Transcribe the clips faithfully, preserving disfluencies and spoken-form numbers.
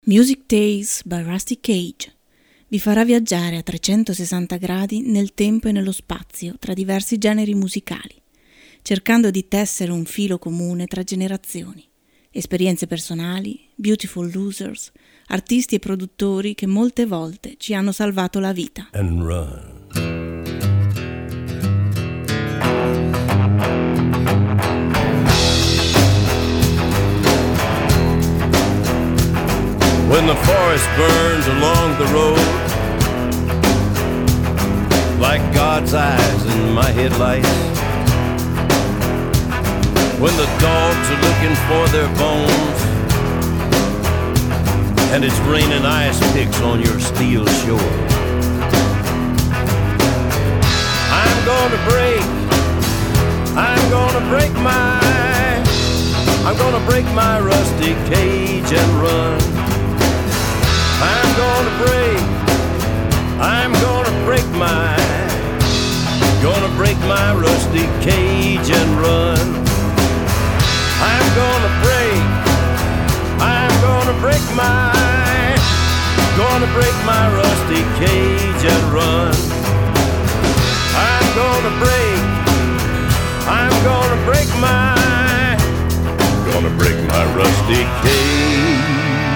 Music Days by Rusty Cage vi farà viaggiare a trecentosessanta gradi nel tempo e nello spazio tra diversi generi musicali, cercando di tessere un filo comune tra generazioni, esperienze personali, beautiful losers, artisti e produttori che molte volte ci hanno salvato la vita. And run. When the forest burns along the road, like God's eyes in my headlights, when the dogs are looking for their bones, and it's raining ice picks on your steel shore, I'm gonna break, I'm gonna break my, I'm gonna break my rusty cage and run. I'm gonna break, I'm gonna break my, gonna break my rusty cage and run. I'm gonna break, I'm gonna break my, gonna break my rusty cage and run. I'm gonna break, I'm gonna break my, gonna break my rusty cage.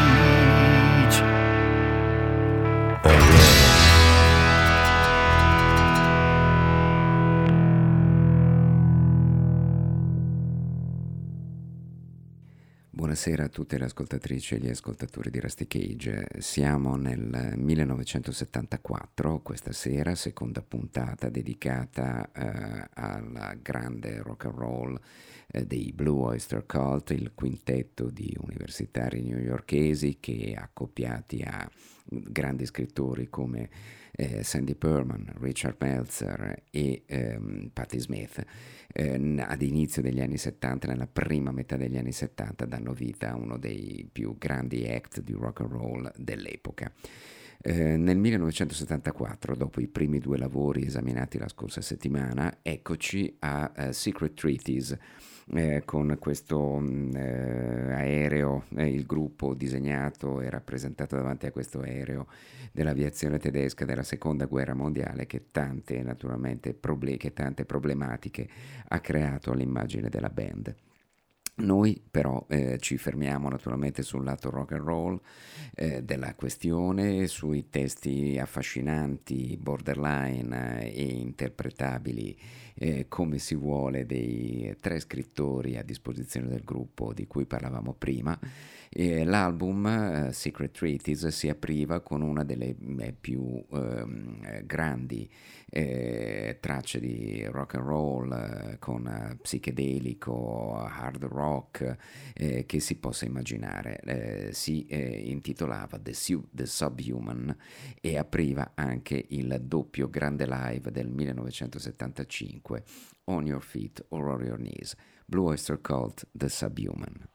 Buonasera a tutte le ascoltatrici e gli ascoltatori di Rusty Cage. Siamo nel millenovecentosettantaquattro, questa sera, seconda puntata dedicata eh, al grande rock and roll eh, dei Blue Oyster Cult, il quintetto di universitari newyorkesi che, accoppiati a grandi scrittori come eh, Sandy Perman, Richard Meltzer e ehm, Patti Smith, eh, ad inizio degli anni settanta, nella prima metà degli anni settanta, danno vita a uno dei più grandi act di rock and roll dell'epoca. Eh, nel millenovecentosettantaquattro, dopo i primi due lavori esaminati la scorsa settimana, eccoci a uh, Secret Treaties, eh, con questo eh, aereo, eh, il gruppo disegnato e rappresentato davanti a questo aereo dell'aviazione tedesca della seconda guerra mondiale, che tante naturalmente proble- che tante problematiche ha creato all'immagine della band. Noi però eh, ci fermiamo naturalmente sul lato rock and roll eh, della questione, sui testi affascinanti, borderline eh, e interpretabili eh, come si vuole dei tre scrittori a disposizione del gruppo di cui parlavamo prima. E l'album uh, Secret Treaties si apriva con una delle eh, più eh, grandi eh, tracce di rock and roll eh, con uh, psichedelico, hard rock eh, che si possa immaginare. Eh, si eh, intitolava The, Su- The Subhuman e apriva anche il doppio grande live del millenovecentosettantacinque, On Your Feet or On Your Knees, Blue Oyster Cult, The Subhuman.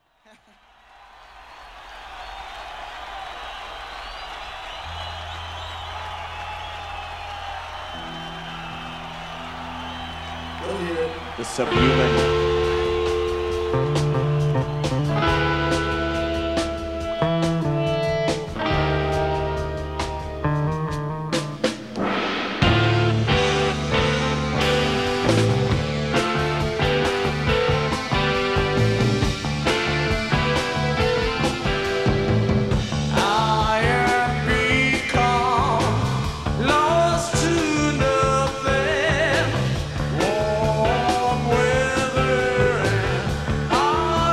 The Subhuman. Warm weather and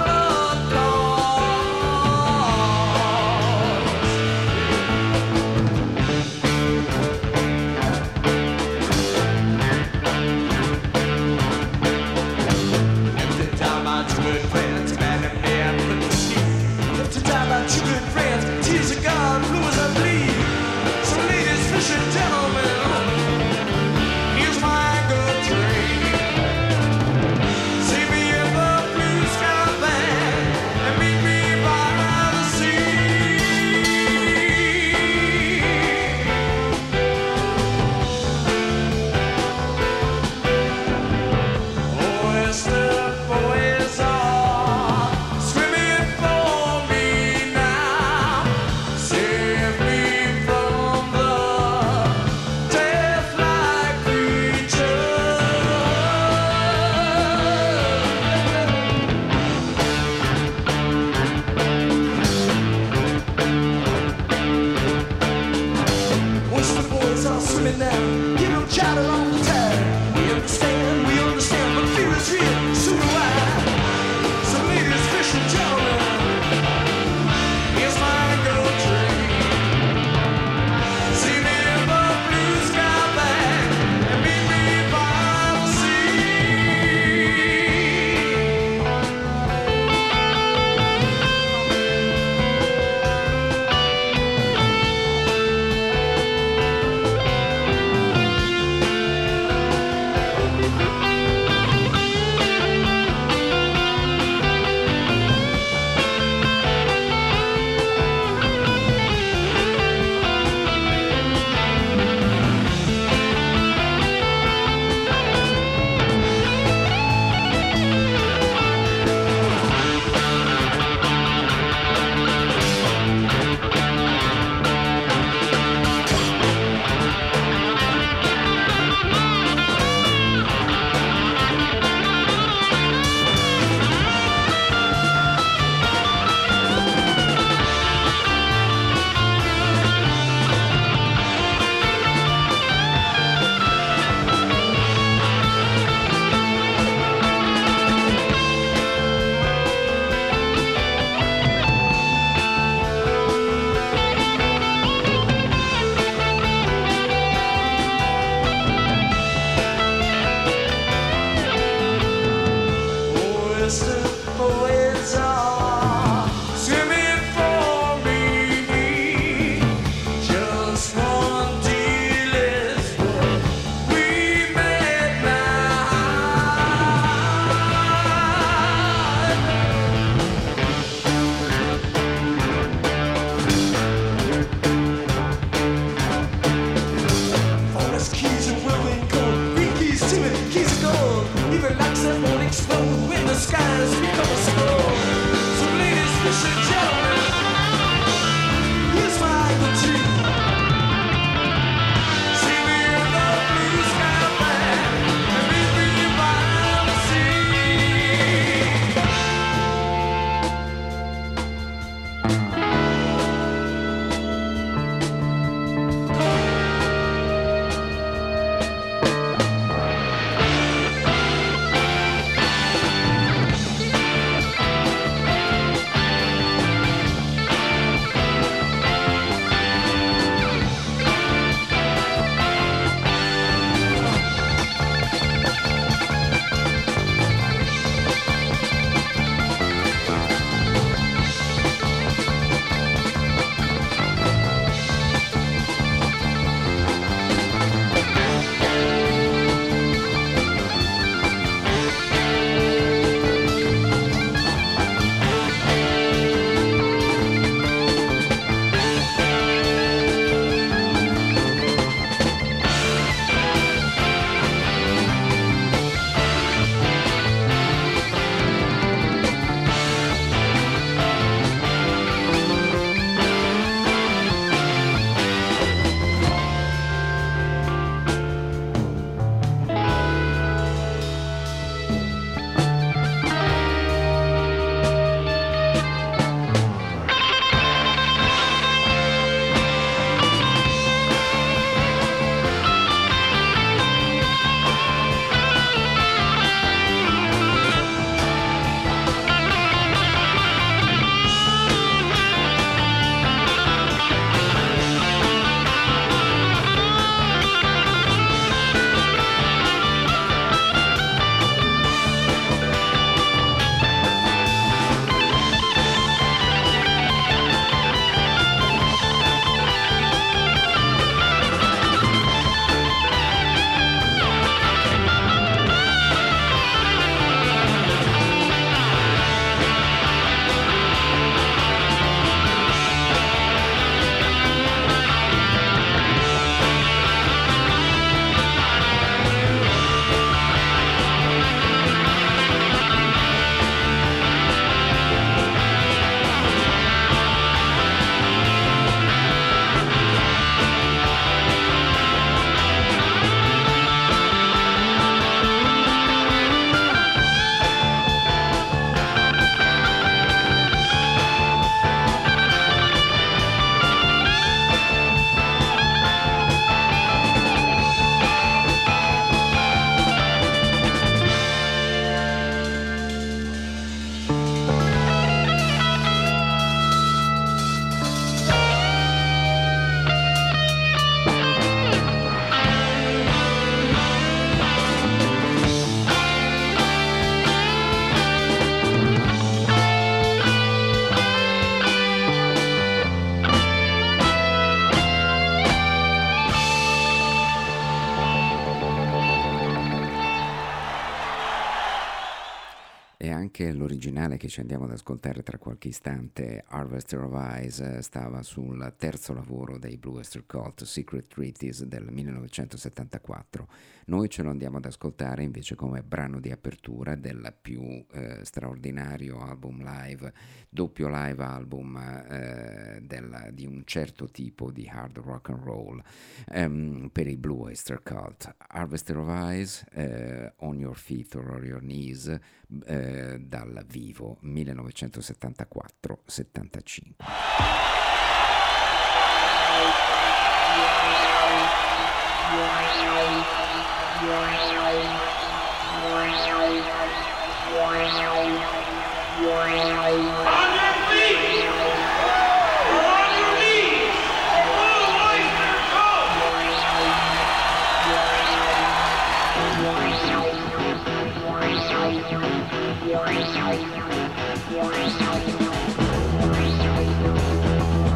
anche l'originale che ci andiamo ad ascoltare tra qualche istante, Harvester of Eyes, stava sul terzo lavoro dei Blue Oyster Cult, Secret Treaties del millenovecentosettantaquattro. Noi ce lo andiamo ad ascoltare invece come brano di apertura del più eh, straordinario album live, doppio live album eh, del, di un certo tipo di hard rock and roll um, per i Blue Oyster Cult. Harvester of Eyes, eh, On Your Feet or On Your Knees, eh, dal vivo millenovecentosettantaquattro settantacinque. We'll be right back.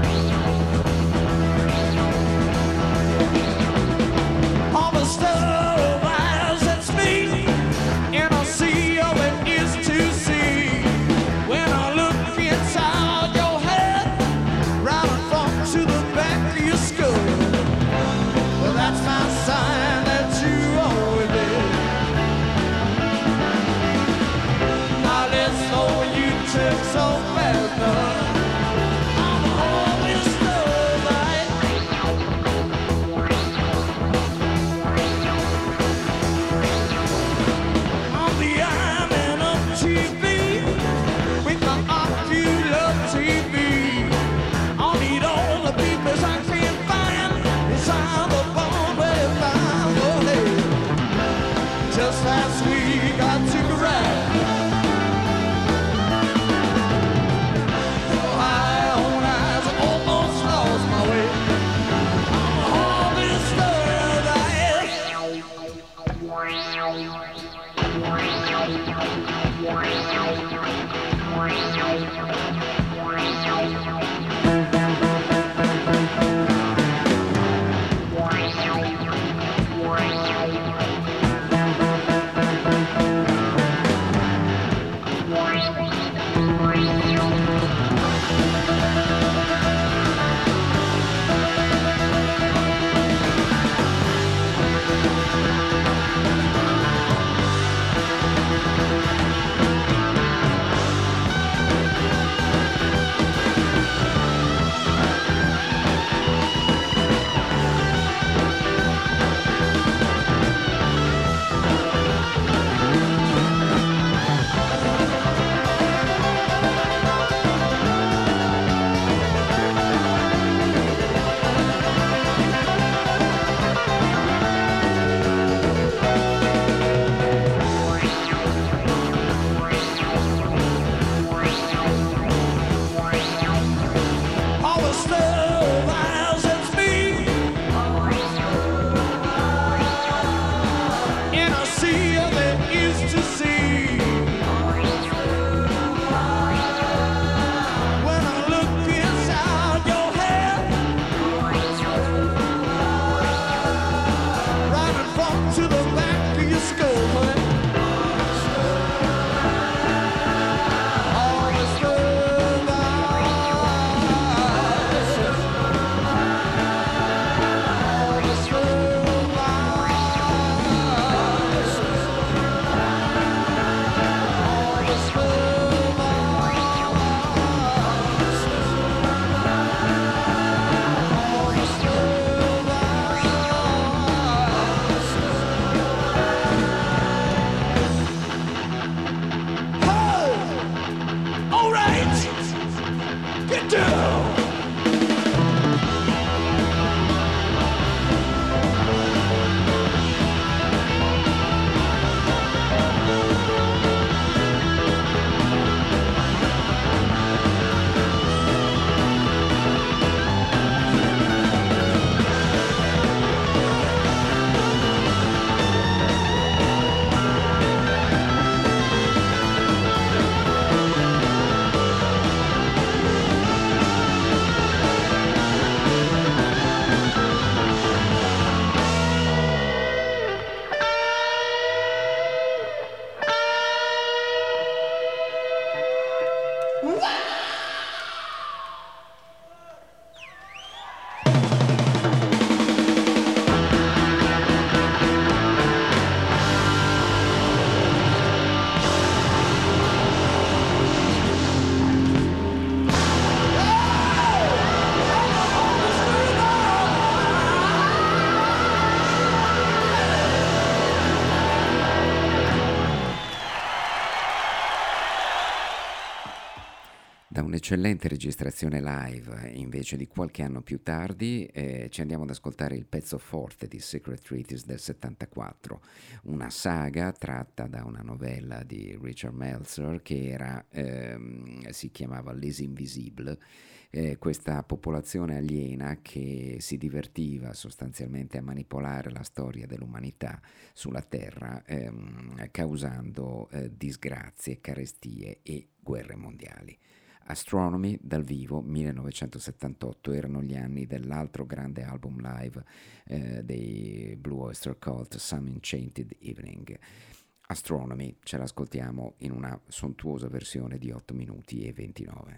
un'eccellente registrazione live invece di qualche anno più tardi. Eh, ci andiamo ad ascoltare il pezzo forte di Secret Treaties del settantaquattro, una saga tratta da una novella di Richard Meltzer che era, ehm, si chiamava Les Invisibles. Eh, questa popolazione aliena che si divertiva sostanzialmente a manipolare la storia dell'umanità sulla Terra, ehm, causando eh, disgrazie, carestie e guerre mondiali. Astronomy dal vivo millenovecentosettantotto, erano gli anni dell'altro grande album live eh, dei Blue Oyster Cult, Some Enchanted Evening. Astronomy ce l'ascoltiamo in una sontuosa versione di otto minuti e ventinove.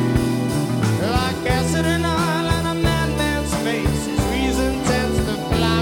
Like acid and oil and a madman's face, his reason tends to fly.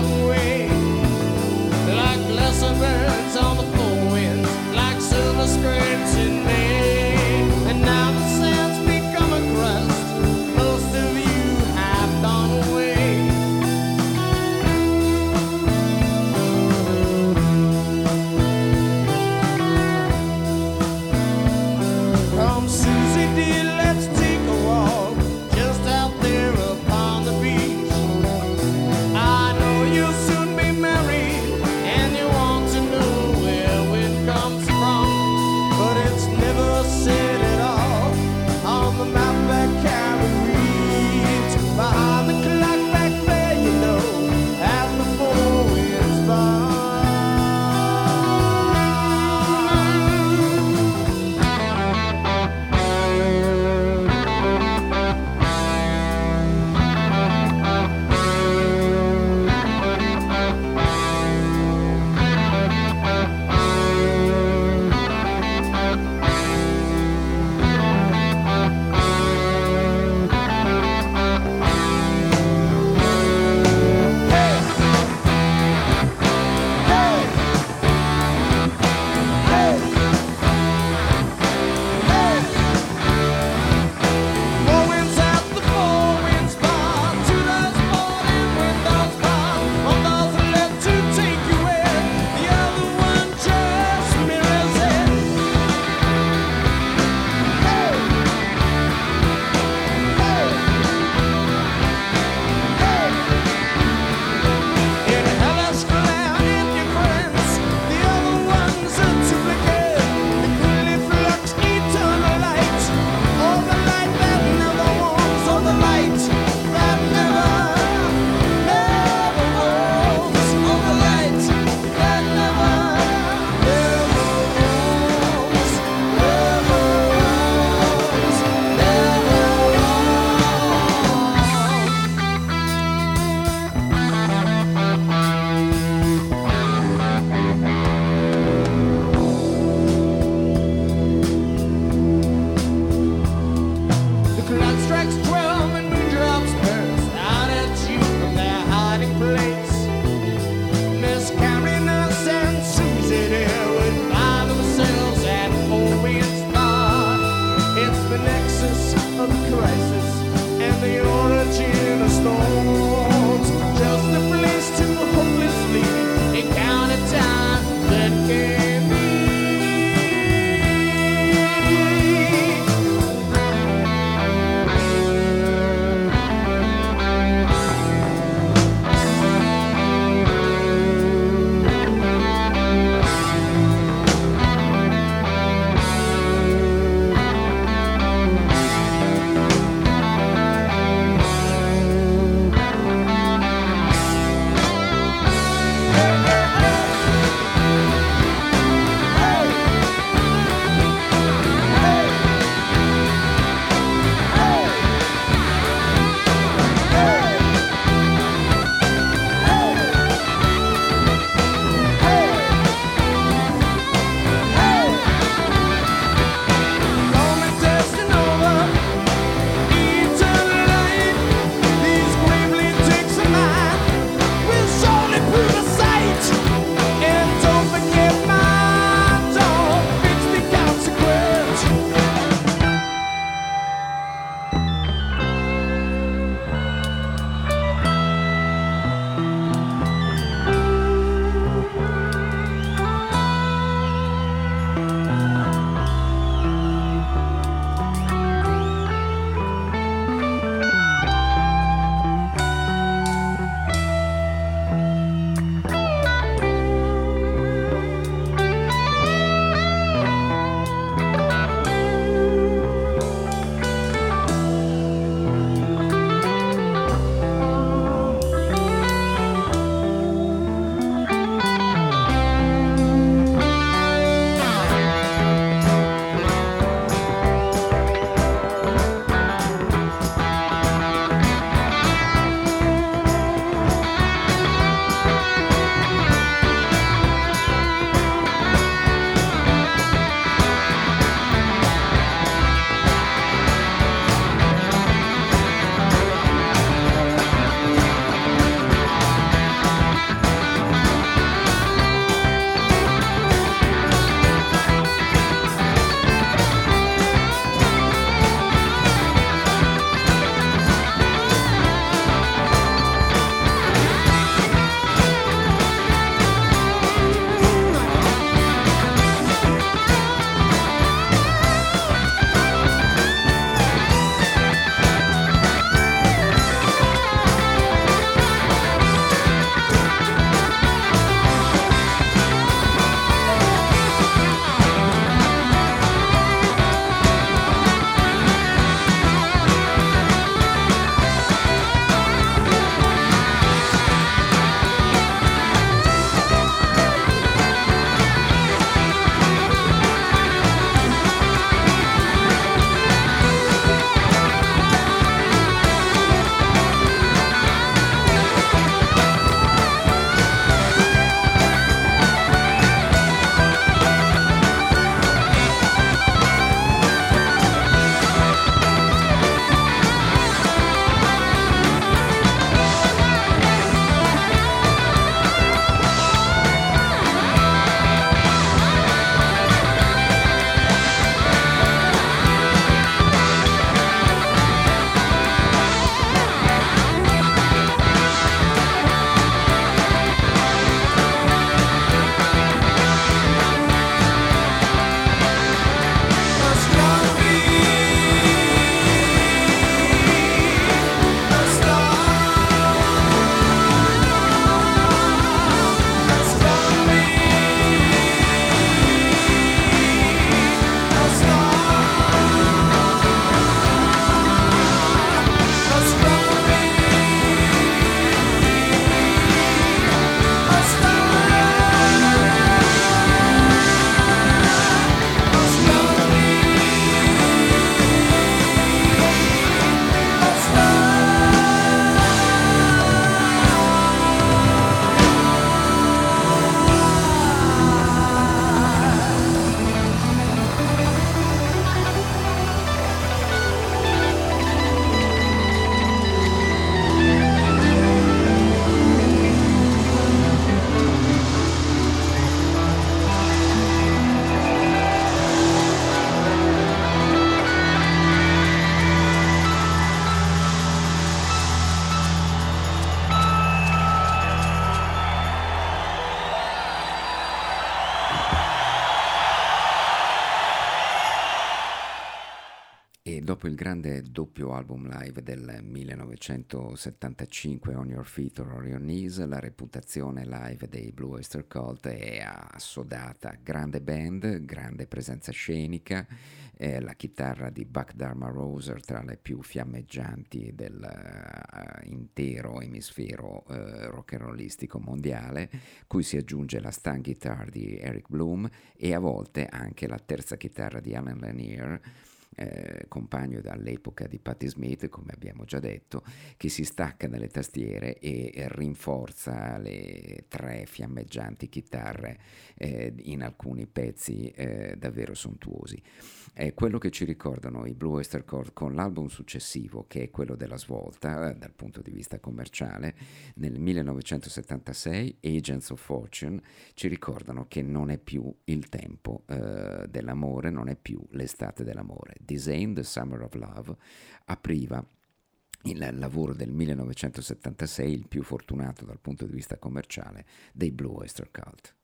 Dopo il grande doppio album live del millenovecentosettantacinque, On Your Feet or On Your Knees, la reputazione live dei Blue Oyster Cult è assodata. Grande band, grande presenza scenica, eh, la chitarra di Buck Dharma Roser tra le più fiammeggianti dell'intero uh, emisfero uh, rock and rollistico mondiale, cui si aggiunge la stun guitar di Eric Bloom e a volte anche la terza chitarra di Alan Lanier, Eh, compagno all'epoca di Patti Smith, come abbiamo già detto, che si stacca dalle tastiere e rinforza le tre fiammeggianti chitarre eh, in alcuni pezzi eh, davvero sontuosi. È quello che ci ricordano i Blue Oyster Cult con l'album successivo, che è quello della svolta eh, dal punto di vista commerciale. Nel millenovecentosettantasei Agents of Fortune ci ricordano che non è più il tempo eh, dell'amore, non è più l'estate dell'amore. This Ain't the Summer of Love apriva il lavoro del millenovecentosettantasei, il più fortunato dal punto di vista commerciale dei Blue Oyster Cult.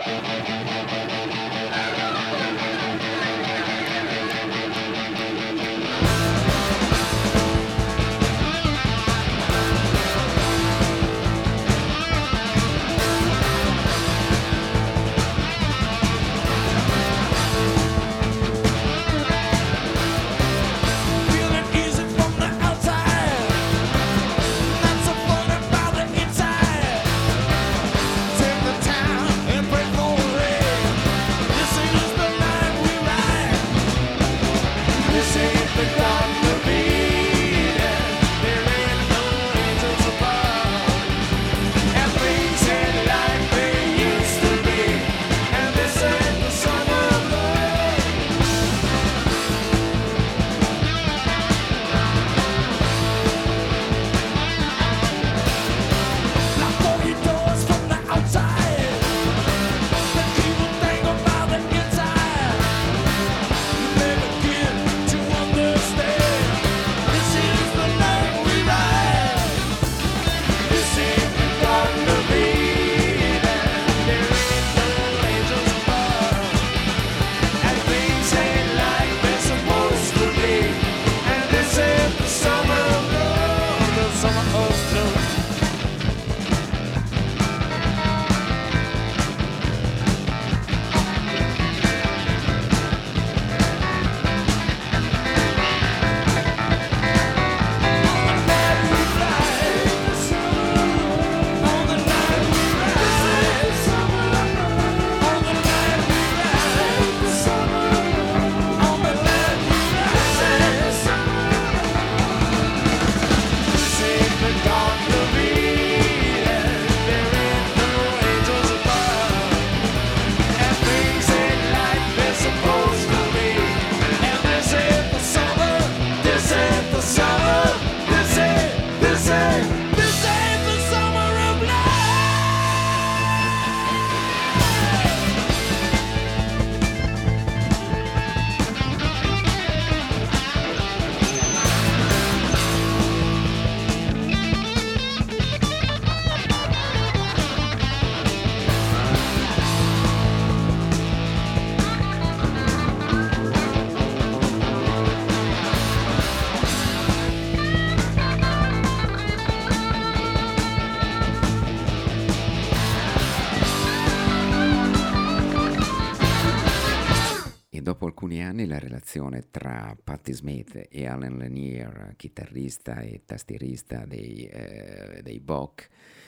La relazione tra Patti Smith e Alan Lanier, chitarrista e tastierista dei, eh, dei Bach,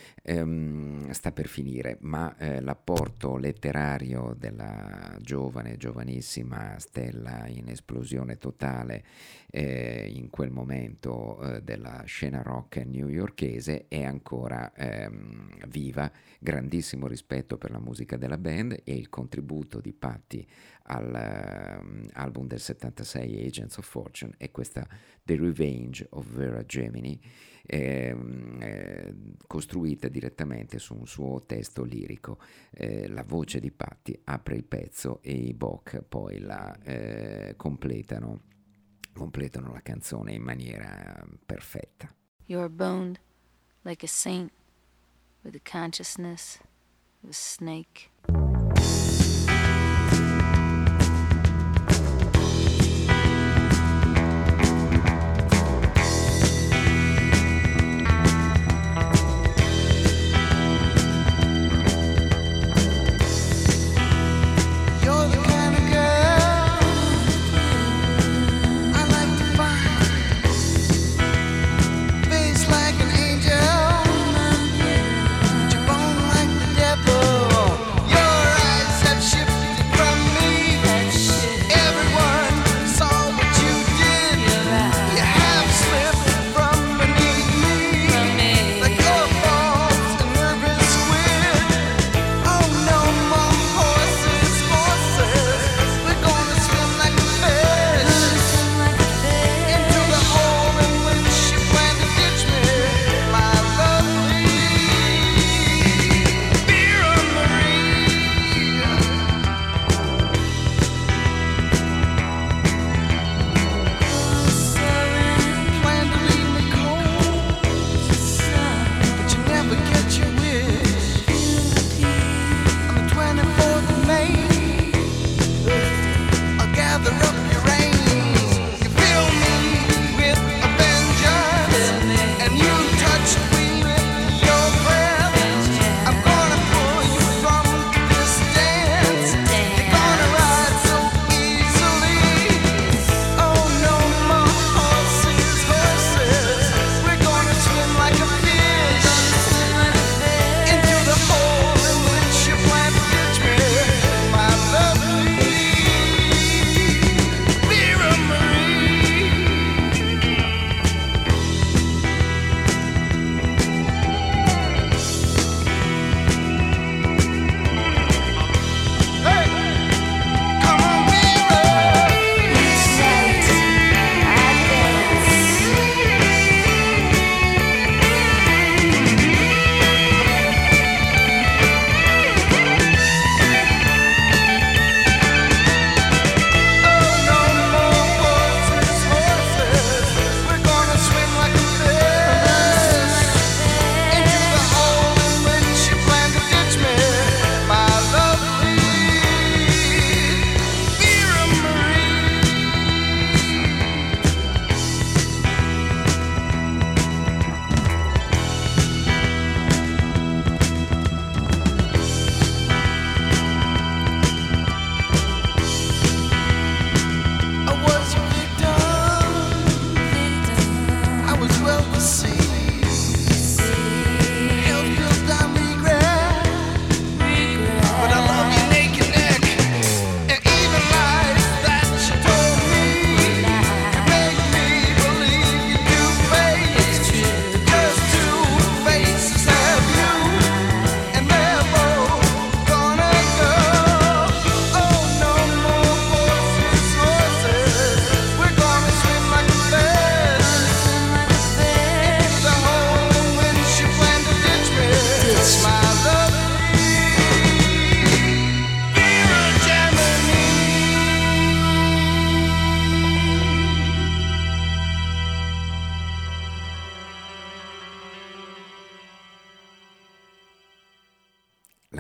ehm, sta per finire, ma eh, l'apporto letterario della giovane, giovanissima stella in esplosione totale eh, in quel momento eh, della scena rock newyorkese è ancora ehm, viva. Grandissimo rispetto per la musica della band e il contributo di Patti all'album um, del settantasei Agents of Fortune e questa The Revenge of Vera Gemini eh, eh, costruita direttamente su un suo testo lirico. Eh, la voce di Patti apre il pezzo e i Bach poi la eh, completano completano la canzone in maniera perfetta. You're boned like a saint with the consciousness of a snake.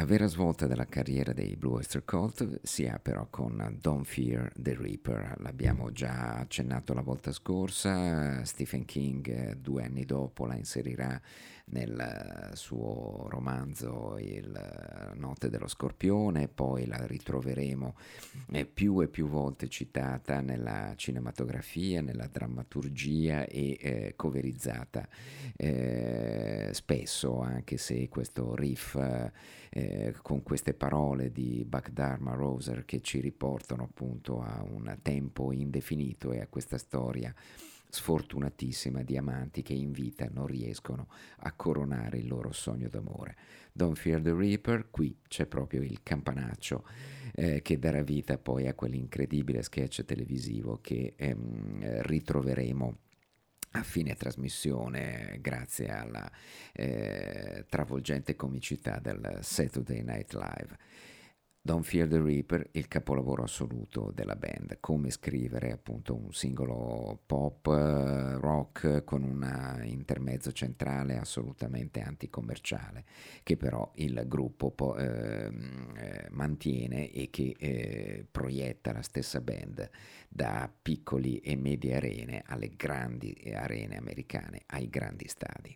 La vera svolta della carriera dei Blue Oyster Cult si ha però con Don't Fear the Reaper. L'abbiamo già accennato la volta scorsa, Stephen King due anni dopo la inserirà nel suo romanzo Il Notte dello Scorpione, poi la ritroveremo più e più volte citata nella cinematografia, nella drammaturgia e eh, coverizzata eh, spesso, anche se questo riff eh, con queste parole di Buck Dharma Roser che ci riportano appunto a un tempo indefinito e a questa storia sfortunatissima di amanti che in vita non riescono a coronare il loro sogno d'amore. Don't Fear the Reaper, qui c'è proprio il campanaccio eh, che darà vita poi a quell'incredibile sketch televisivo che ehm, ritroveremo a fine trasmissione grazie alla eh, travolgente comicità del Saturday Night Live. Don't Fear the Reaper, il capolavoro assoluto della band, come scrivere appunto un singolo pop uh, rock con un intermezzo centrale assolutamente anticommerciale, che però il gruppo po- eh, eh, mantiene e che eh, proietta la stessa band da piccoli e medie arene alle grandi arene americane, ai grandi stadi.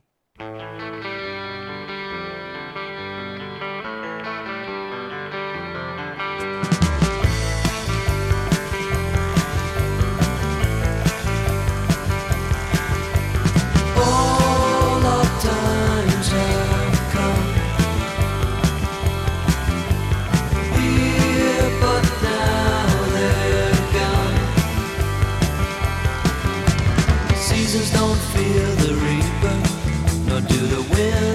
Don't fear the reaper, nor do the wind.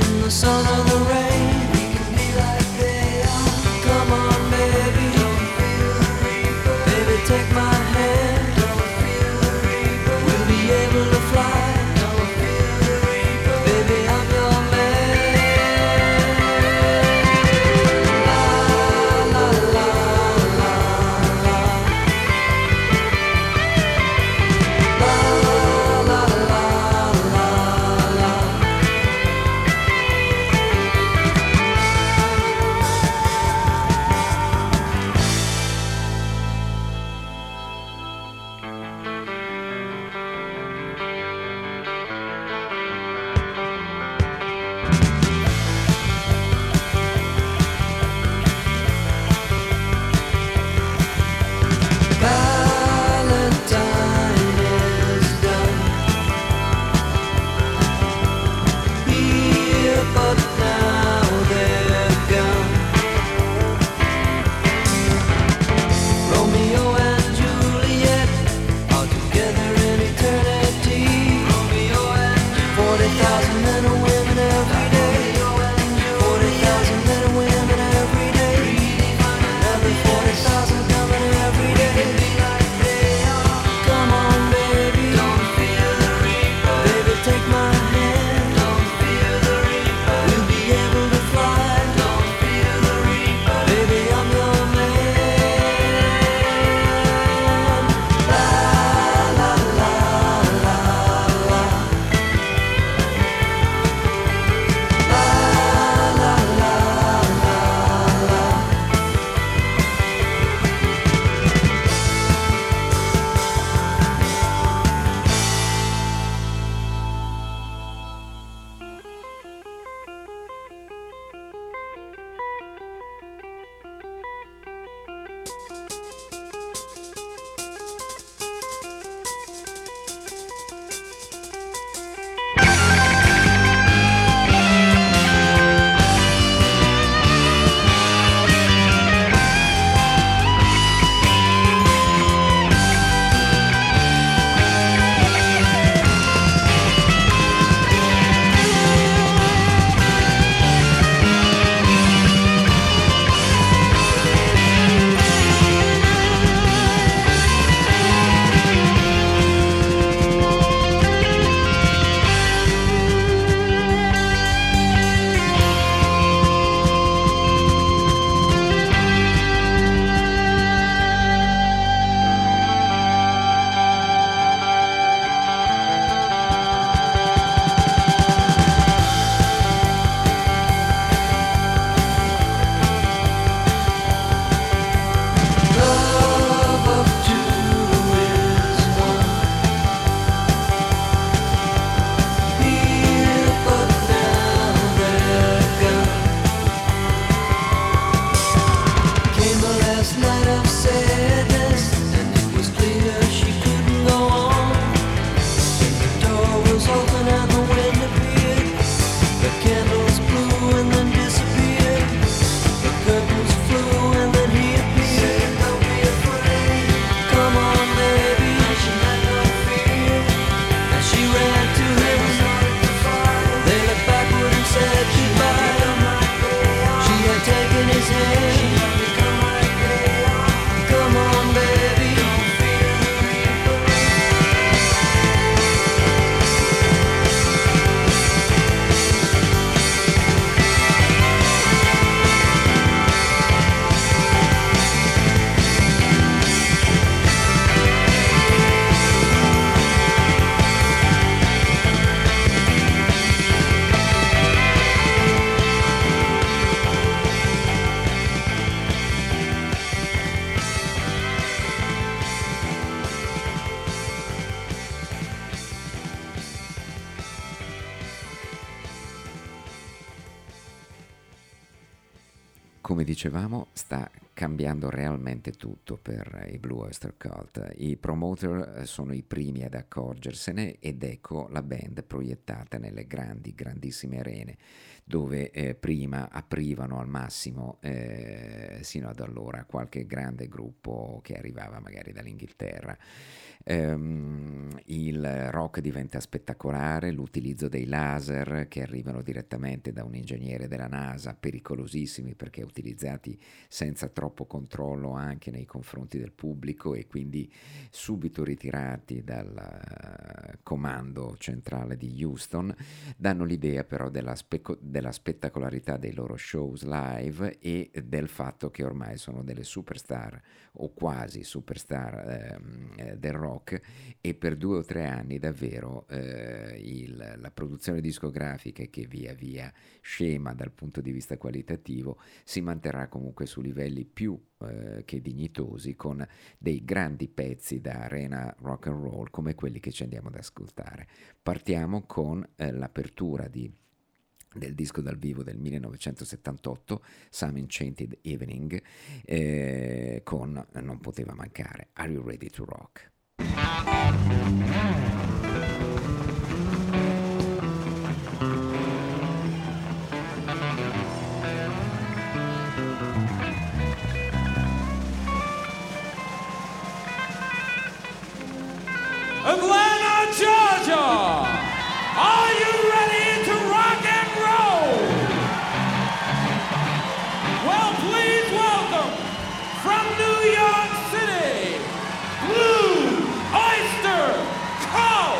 dicevamo, sta cambiando realmente tutto per i Blue Oyster Cult. I promoter sono i primi ad accorgersene ed ecco la band proiettata nelle grandi, grandissime arene dove eh, prima aprivano al massimo eh, sino ad allora qualche grande gruppo che arrivava magari dall'Inghilterra. Um, il rock diventa spettacolare, l'utilizzo dei laser che arrivano direttamente da un ingegnere della NASA, pericolosissimi perché utilizzati senza troppo controllo anche nei confronti del pubblico e quindi subito ritirati dal uh, comando centrale di Houston, danno l'idea però della, speco- della spettacolarità dei loro shows live e del fatto che ormai sono delle superstar o quasi superstar eh, del rock, e per due o tre anni davvero eh, il, la produzione discografica, che via via scema dal punto di vista qualitativo, si manterrà comunque su livelli più eh, che dignitosi, con dei grandi pezzi da arena rock and roll come quelli che ci andiamo ad ascoltare. Partiamo con eh, l'apertura di del disco dal vivo del millenovecentosettantotto, Some Enchanted Evening, eh, con non poteva mancare Are You Ready to Rock? Atlanta, Georgia! Are you ready to rock and roll? Well, please welcome from New York City, Blue Oyster Cult!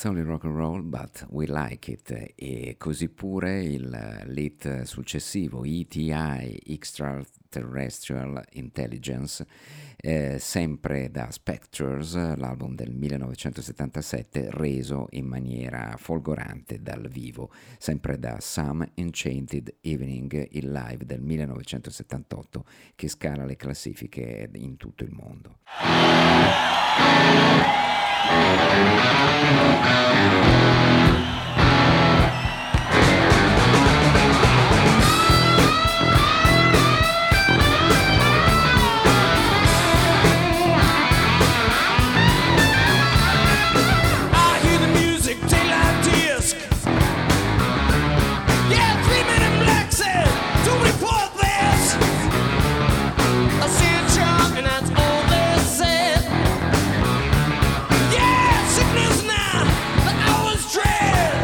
only rock and roll, but we like it. E così pure il lead successivo, E T I, Extraterrestrial Intelligence, eh, sempre da Spectres, l'album del millenovecentosettantasette, reso in maniera folgorante dal vivo, sempre da Some Enchanted Evening, il live del millenovecentosettantotto che scala le classifiche in tutto il mondo. Sickness now, the hour's dread.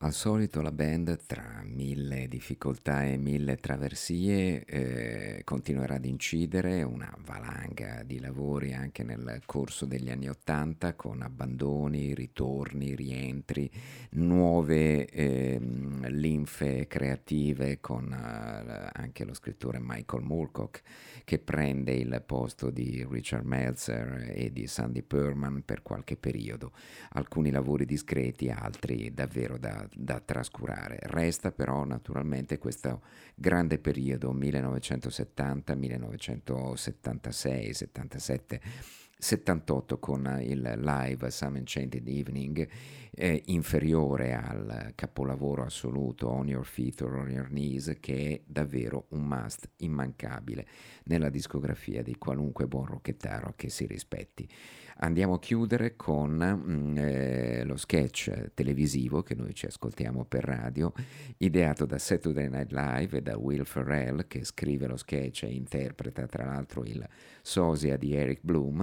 Al solito la band, tra mille difficoltà e mille traversie, eh, continuerà ad incidere, una valanga di lavori anche nel corso degli anni Ottanta, con abbandoni, ritorni, rientri, nuove eh, linfe creative, con eh, anche lo scrittore Michael Moorcock che prende il posto di Richard Meltzer e di Sandy Pearlman per qualche periodo. Alcuni lavori discreti, altri davvero da da trascurare. Resta però naturalmente questo grande periodo millenovecentosettanta, millenovecentosettantasei, settantasette, settantotto, con il live Some Enchanted Evening, eh, inferiore al capolavoro assoluto On Your Feet or On Your Knees, che è davvero un must immancabile nella discografia di qualunque buon rockettaro che si rispetti. Andiamo a chiudere con mm, eh, lo sketch televisivo che noi ci ascoltiamo per radio, ideato da Saturday Night Live e da Will Ferrell, che scrive lo sketch e interpreta tra l'altro il sosia di Eric Bloom.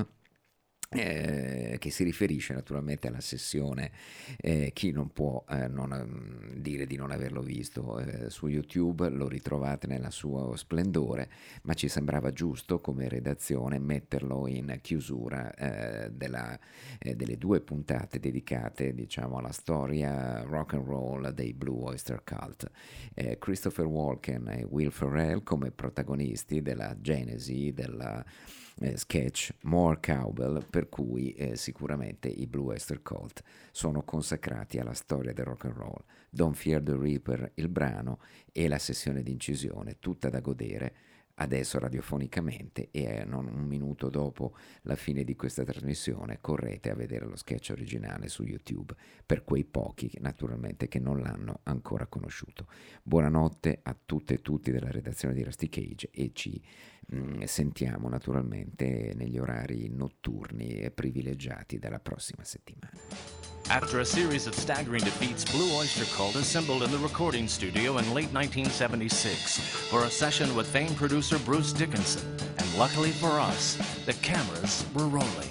Eh, che si riferisce naturalmente alla sessione, eh, chi non può eh, non, um, dire di non averlo visto eh, su YouTube, lo ritrovate nella suo splendore, ma ci sembrava giusto come redazione metterlo in chiusura eh, della, eh, delle due puntate dedicate, diciamo, alla storia rock and roll dei Blue Oyster Cult. eh, Christopher Walken e Will Ferrell come protagonisti della genesi della Eh, sketch More Cowbell, per cui eh, sicuramente i Blue Oyster Cult sono consacrati alla storia del rock and roll. Don't Fear the Reaper, il brano, e la sessione di incisione, tutta da godere adesso radiofonicamente, e non un minuto dopo la fine di questa trasmissione correte a vedere lo sketch originale su YouTube, per quei pochi naturalmente che non l'hanno ancora conosciuto. Buonanotte a tutte e tutti della redazione di Rusty Cage, e ci mh, sentiamo naturalmente negli orari notturni e privilegiati della prossima settimana. After a series of staggering defeats, Blue Oyster Cult assembled in the recording studio in late nineteen seventy-six for a session with famed producer Bruce Dickinson. And luckily for us, the cameras were rolling.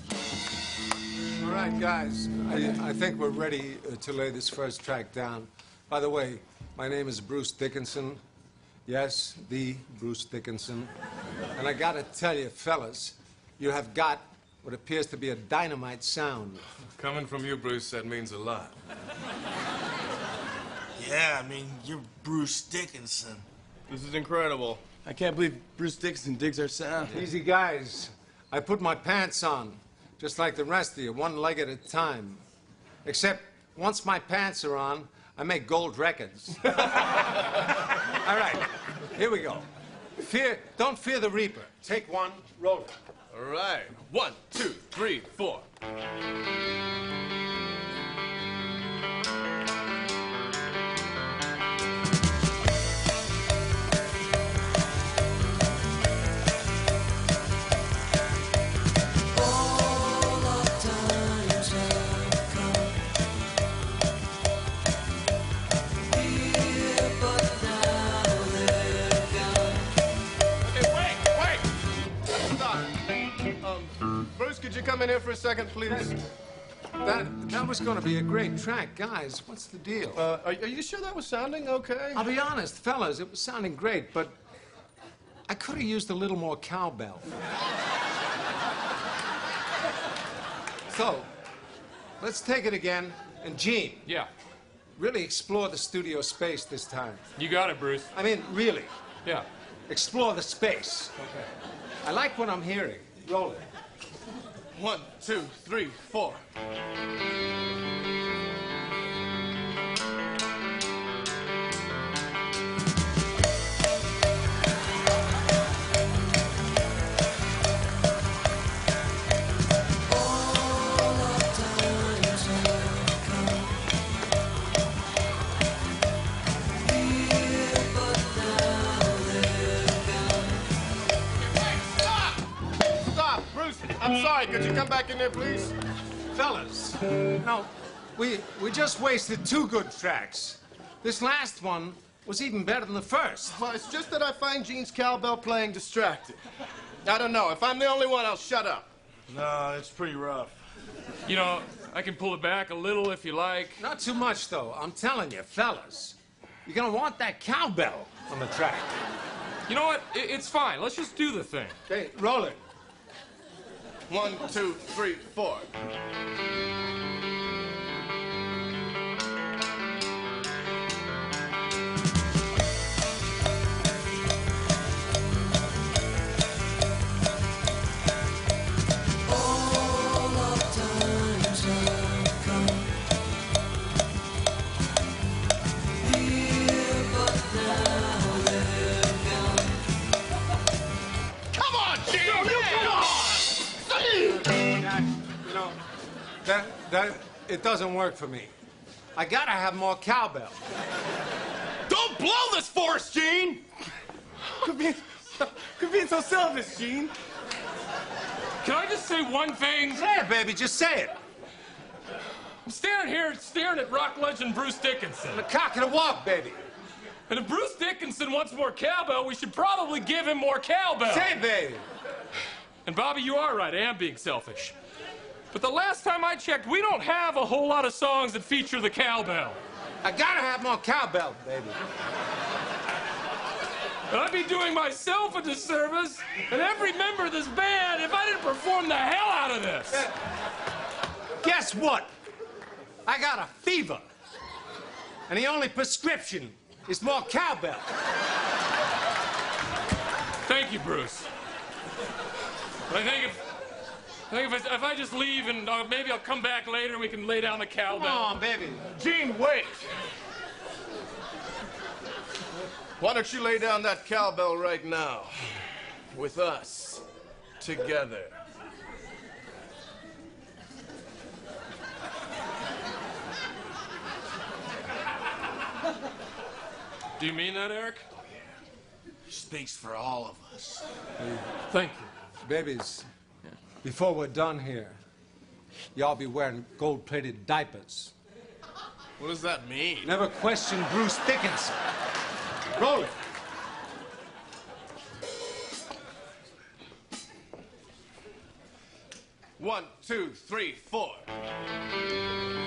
All right, guys, I, I think we're ready uh, to lay this first track down. By the way, my name is Bruce Dickinson. Yes, the Bruce Dickinson. And I gotta tell you, fellas, you have got what appears to be a dynamite sound. Coming from you, Bruce, that means a lot. Yeah, I mean, you're Bruce Dickinson. This is incredible. I can't believe Bruce Dickinson digs our sound. Easy, guys. I put my pants on, just like the rest of you, one leg at a time. Except, once my pants are on, I make gold records. All right, here we go. Fear, don't fear the Reaper. Take one, roll it. All right. One, two, three, four. Could you come in here for a second, please? That, that was going to be a great track. Guys, what's the deal? Uh, are, are you sure that was sounding okay? I'll be honest, fellas, it was sounding great, but I could have used a little more cowbell. So, let's take it again. And Gene. Yeah. Really explore the studio space this time. You got it, Bruce. I mean, really. Yeah. Explore the space. Okay. I like what I'm hearing. Roll it. One, two, three, four. I'm sorry, could you come back in there, please? Fellas, no, we, we just wasted two good tracks. This last one was even better than the first. Well, it's just that I find Gene's cowbell playing distracting. I don't know. If I'm the only one, I'll shut up. No, it's pretty rough. You know, I can pull it back a little if you like. Not too much, though. I'm telling you, fellas. You're gonna want that cowbell on the track. You know what? I- it's fine. Let's just do the thing. Okay, roll it. One, two, three, four. That, that, it doesn't work for me. I gotta have more cowbell. Don't blow this for us, Gene! Quit being, quit being so selfish, Gene. Can I just say one thing? Say it, baby, just say it. I'm standing here staring at rock legend Bruce Dickinson. The cock and the walk, baby. And if Bruce Dickinson wants more cowbell, we should probably give him more cowbell. Say it, baby. And Bobby, you are right. I am being selfish. But the last time I checked, we don't have a whole lot of songs that feature the cowbell. I gotta have more cowbell, baby. And I'd be doing myself a disservice and every member of this band if I didn't perform the hell out of this. Uh, guess what? I got a fever. And the only prescription is more cowbell. Thank you, Bruce. But I think if... I think if I, if I just leave and uh, maybe I'll come back later and we can lay down the cowbell. Come on, baby. Gene, wait! Why don't you lay down that cowbell right now? With us. Together. Do you mean that, Eric? He speaks for all of us. Thank you. Babies, before we're done here, y'all be wearing gold-plated diapers. What does that mean? Never question Bruce Dickinson. Roll it. One, two, three, four.